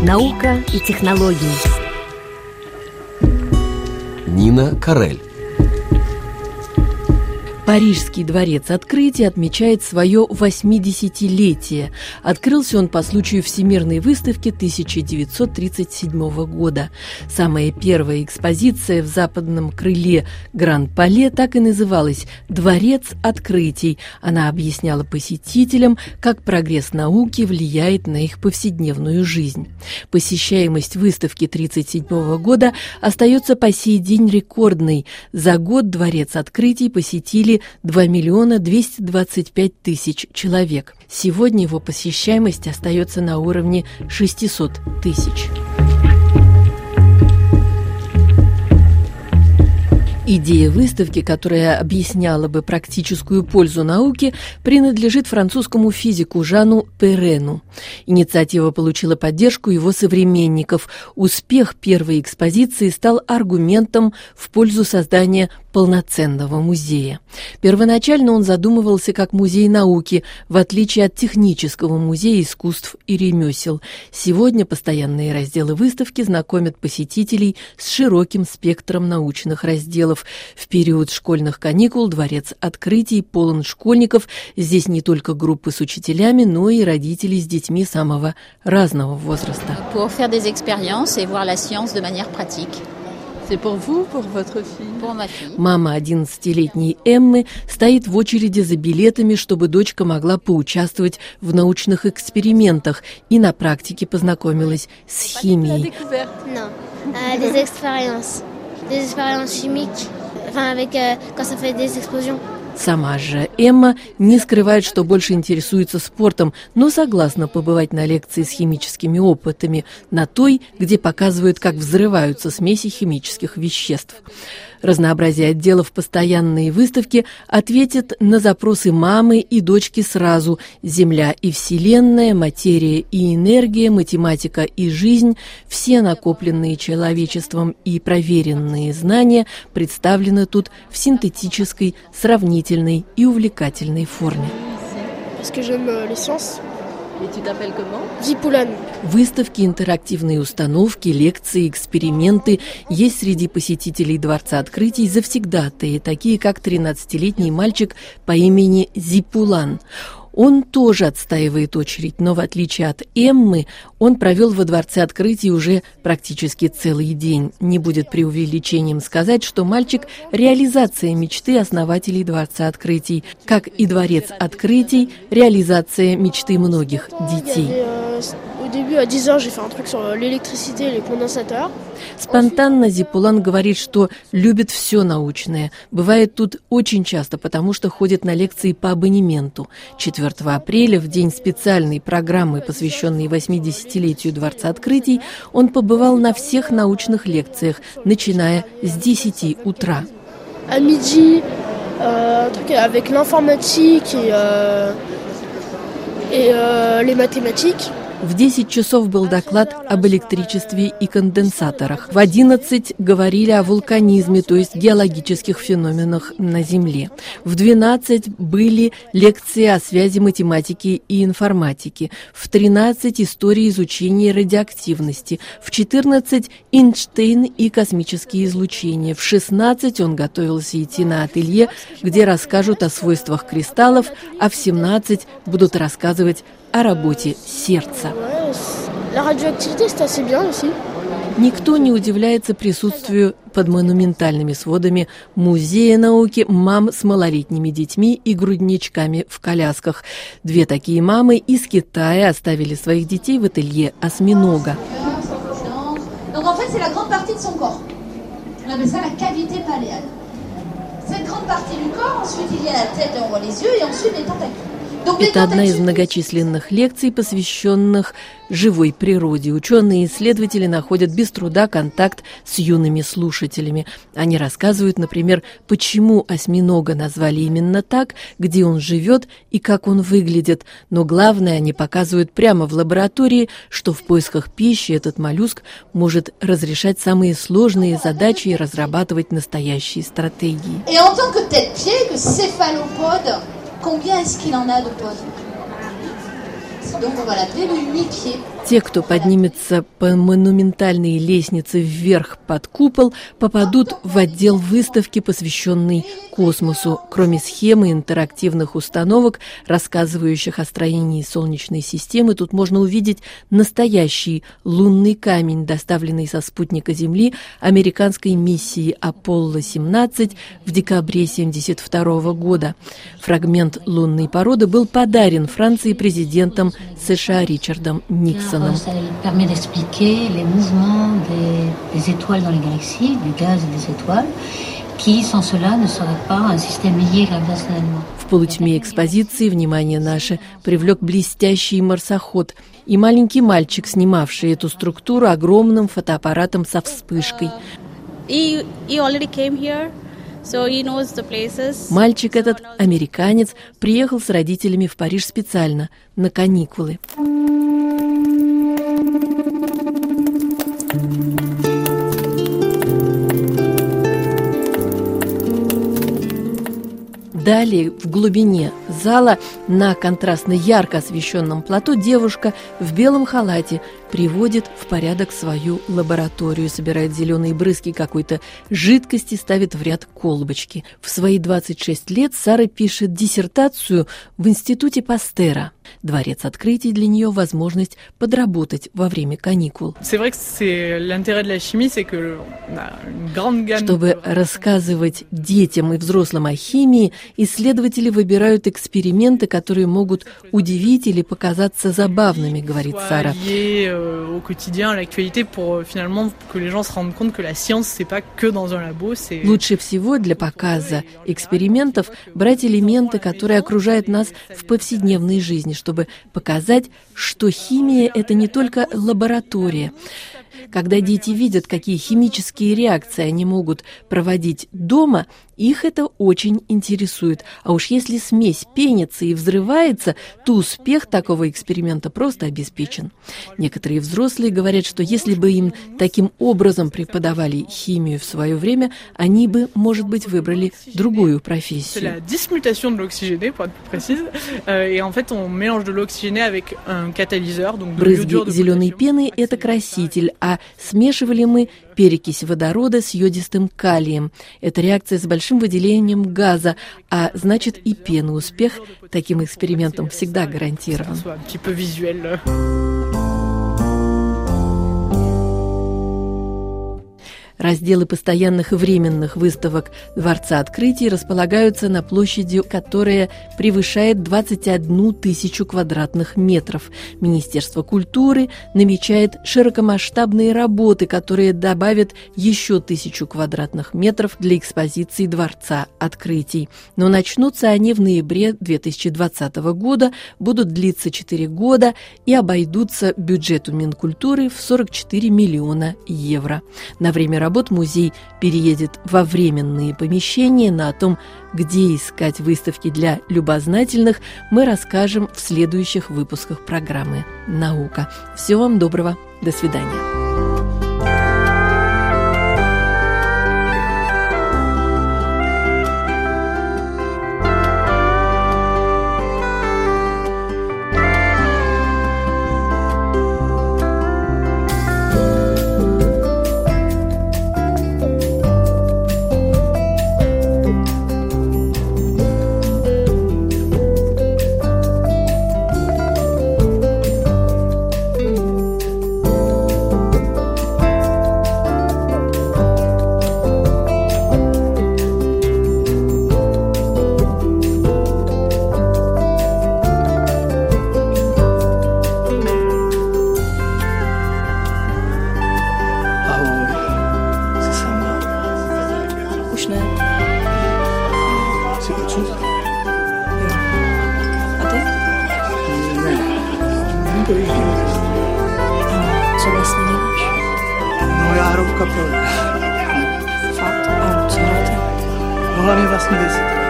Наука и технологии. Нина Карель. Парижский дворец открытий отмечает свое 80-летие. Открылся он по случаю Всемирной выставки 1937 года. Самая первая экспозиция в западном крыле Гран-Пале так и называлась «Дворец открытий». Она объясняла посетителям, как прогресс науки влияет на их повседневную жизнь. Посещаемость выставки 1937 года остается по сей день рекордной. За год Дворец открытий посетили 2 225 000 человек. Сегодня его посещаемость остается на уровне 600 000. Идея выставки, которая объясняла бы практическую пользу науки, принадлежит французскому физику Жану Перрену. Инициатива получила поддержку его современников. Успех первой экспозиции стал аргументом в пользу создания полноценного музея. Первоначально он задумывался как музей науки, в отличие от технического музея искусств и ремесел. Сегодня постоянные разделы выставки знакомят посетителей с широким спектром научных разделов. В период школьных каникул Дворец открытий полон школьников. Здесь не только группы с учителями, но и родители с детьми самого разного возраста. Pour faire des expériences et voir la science de manière pratique. C'est pour vous, pour votre fille? Pour ma fille. Мама 11-летней Эммы стоит в очереди за билетами, чтобы дочка могла поучаствовать в научных экспериментах и на практике познакомилась с химией. Non, des expériences chimiques, quand ça fait des explosions. Сама же Эмма не скрывает, что больше интересуется спортом, но согласна побывать на лекции с химическими опытами, на той, где показывают, как взрываются смеси химических веществ. Разнообразие отделов постоянной выставки ответит на запросы мамы и дочки сразу. Земля и Вселенная, материя и энергия, математика и жизнь – все накопленные человечеством и проверенные знания представлены тут в синтетической, сравнительной и увлекательной форме. Et tu t'appelles comment? Зипулан. Выставки, интерактивные установки, лекции, эксперименты. Есть среди посетителей Дворца открытий завсегдатаи, такие как 13-летний мальчик по имени Зипулан. Он тоже отстаивает очередь, но в отличие от Эммы, он провел во Дворце открытий уже практически целый день. Не будет преувеличением сказать, что мальчик – реализация мечты основателей Дворца открытий, как и Дворец открытий – реализация мечты многих детей. Au début, à 10 ans, j'ai fait un truc sur l'électricité et les condensateurs. Спонтанно Зипулан говорит, что любит все научное. Бывает тут очень часто, потому что ходит на лекции по абонементу. 4 апреля, в день специальной программы, посвященной 80-летию Дворца открытий, он побывал на всех научных лекциях, начиная с 10 утра. À midi, un truc avec l'informatique et les mathématiques. В 10 часов был доклад об электричестве и конденсаторах. В 11 говорили о вулканизме, то есть геологических феноменах на Земле. В 12 были лекции о связи математики и информатики. В 13 история изучения радиоактивности. В 14 Эйнштейн и космические излучения. В 16 он готовился идти на ателье, где расскажут о свойствах кристаллов, а в 17 будут рассказывать о работе сердца. Никто не удивляется присутствию под монументальными сводами Музея науки мам с малолетними детьми и грудничками в колясках. 2 такие мамы из Китая оставили своих детей в ателье осьминога. Это одна из многочисленных лекций, посвященных живой природе. Ученые и исследователи находят без труда контакт с юными слушателями. Они рассказывают, например, почему осьминога назвали именно так, где он живет и как он выглядит. Но главное, они показывают прямо в лаборатории, что в поисках пищи этот моллюск может разрешать самые сложные задачи и разрабатывать настоящие стратегии. Combien est-ce qu'il en a de pods? Donc on va l'appeler le mi-pied. Те, кто поднимется по монументальной лестнице вверх под купол, попадут в отдел выставки, посвященный космосу. Кроме схемы интерактивных установок, рассказывающих о строении Солнечной системы, тут можно увидеть настоящий лунный камень, доставленный со спутника Земли американской миссии Аполло-17 в декабре 1972 года. Фрагмент лунной породы был подарен Франции президентом США Ричардом Никсоном. Ça permet d'expliquer les mouvements des étoiles dans les galaxies, du gaz et des étoiles, qui sans cela ne serait pas un système lié gravitationnellement. В полутьме экспозиции внимание наше привлек блестящий марсоход и маленький мальчик, снимавший эту структуру огромным фотоаппаратом со вспышкой. Мальчик этот, американец, приехал с родителями в Париж специально, на каникулы. Далее, в глубине зала, на контрастно ярко освещенном плато, девушка в белом халате приводит в порядок свою лабораторию, собирает зеленые брызги какой-то жидкости, ставит в ряд колбочки. В свои 26 лет Сара пишет диссертацию в Институте Пастера. Дворец открытий для нее возможность подработать во время каникул. Чтобы рассказывать детям и взрослым о химии, исследователи выбирают эксперименты, которые могут удивить или показаться забавными, говорит Сара. Лучше всего для показа экспериментов брать элементы, которые окружают нас в повседневной жизни, чтобы показать, что химия – это не только лаборатория. Когда дети видят, какие химические реакции они могут проводить дома, их это очень интересует. А уж если смесь пенится и взрывается, то успех такого эксперимента просто обеспечен. Некоторые взрослые говорят, что если бы им таким образом преподавали химию в свое время, они бы, может быть, выбрали другую профессию. Брызги зеленой пены – это краситель, а смешивали мы перекись водорода с йодистым калием. Это реакция с большим выделением газа, а значит и пены. Успех таким экспериментом всегда гарантирован. Разделы постоянных и временных выставок Дворца открытий располагаются на площади, которая превышает 21 тысячу квадратных метров. Министерство культуры намечает широкомасштабные работы, которые добавят еще 1000 квадратных метров для экспозиции Дворца открытий. Но начнутся они в ноябре 2020 года, будут длиться 4 года и обойдутся бюджету Минкультуры в 44 миллиона евро. На время работ музей переедет во временные помещения. На том, где искать выставки для любознательных, мы расскажем в следующих выпусках программы «Наука». Всего вам доброго. До свидания. Co vlastně děláš? No já hru v kapele. Fakt? A co hrajete? No hlavně vlastní věci.